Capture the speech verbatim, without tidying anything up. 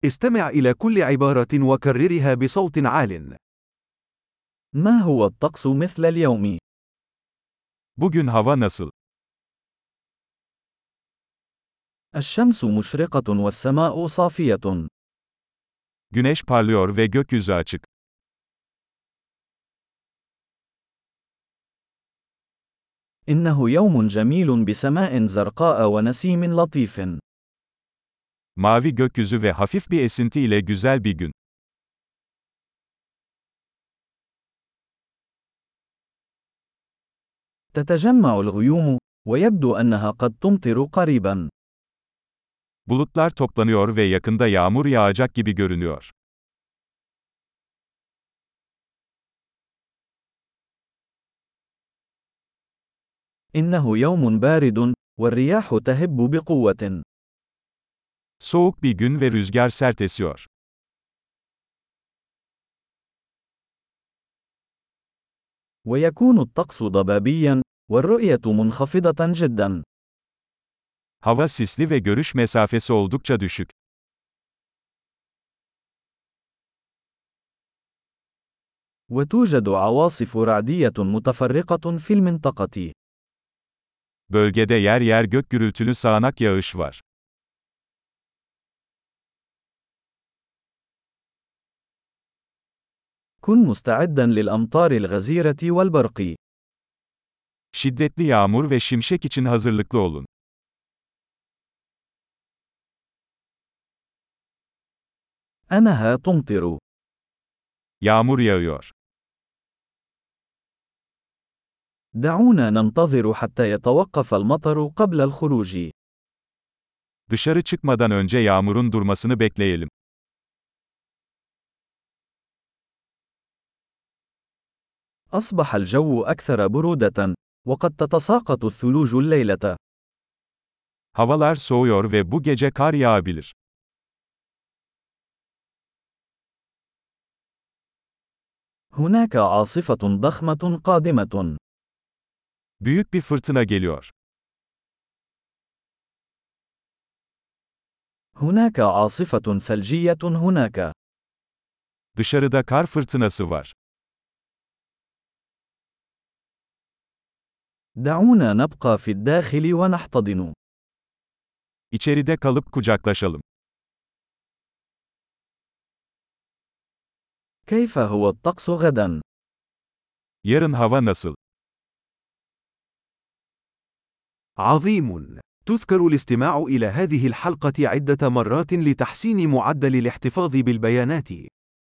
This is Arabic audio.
استمع إلى كل عبارة وكررها بصوت عال. ما هو الطقس مثل اليوم؟ Bugün hava nasıl? الشمس مشرقة والسماء صافية. Güneş parlıyor ve gökyüzü açık. إنه يوم جميل بسماء زرقاء ونسيم لطيف. Mavi gökyüzü ve hafif bir esinti ile güzel bir gün. تتجمع الغيوم، ويبدو أنها قد تمطر قريبا. Bulutlar toplanıyor ve yakında yağmur yağacak gibi görünüyor. إنه يوم بارد، والرياح تهب بقوة. Soğuk bir gün ve rüzgar sert esiyor. ويكون الطقس ضبابيا، والرؤية منخفضة جدا. Hava sisli ve görüş mesafesi oldukça düşük. وتوجد عواصف رعدية متفرقة في المنطقة. Bölgede yer yer gök gürültülü sağanak yağış var. كن مستعدا للأمطار الغزيرة والبرق. Şiddetli yağmur ve şimşek için hazırlıklı olun. أنها تمطر. Yağmur yağıyor. دعونا ننتظر حتى يتوقف المطر قبل الخروج. Dışarı çıkmadan önce yağmurun durmasını bekleyelim. أصبح الجو أكثر برودة، وقد تتساقط الثلوج الليلة. Havalar soğuyor ve bu gece kar yağabilir. هناك عاصفة ضخمة قادمة. Büyük bir fırtına geliyor. هناك عاصفة ثلجية هناك. Dışarıda kar fırtınası var. دعونا نبقى في الداخل ونحتضن. İçeride kalıp kucaklaşalım. كيف هو الطقس غدا؟ Yarın hava nasıl? عظيم. تذكر الاستماع إلى هذه الحلقة عدة مرات لتحسين معدل الاحتفاظ بالبيانات.